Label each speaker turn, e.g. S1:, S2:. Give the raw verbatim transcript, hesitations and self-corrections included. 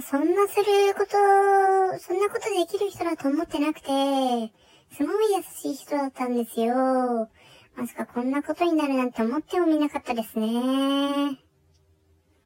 S1: そんなすること、そんなことできる人だと思ってなくて、すごい優しい人だったんですよ。まさかこんなことになるなんて思ってもみなかったですね。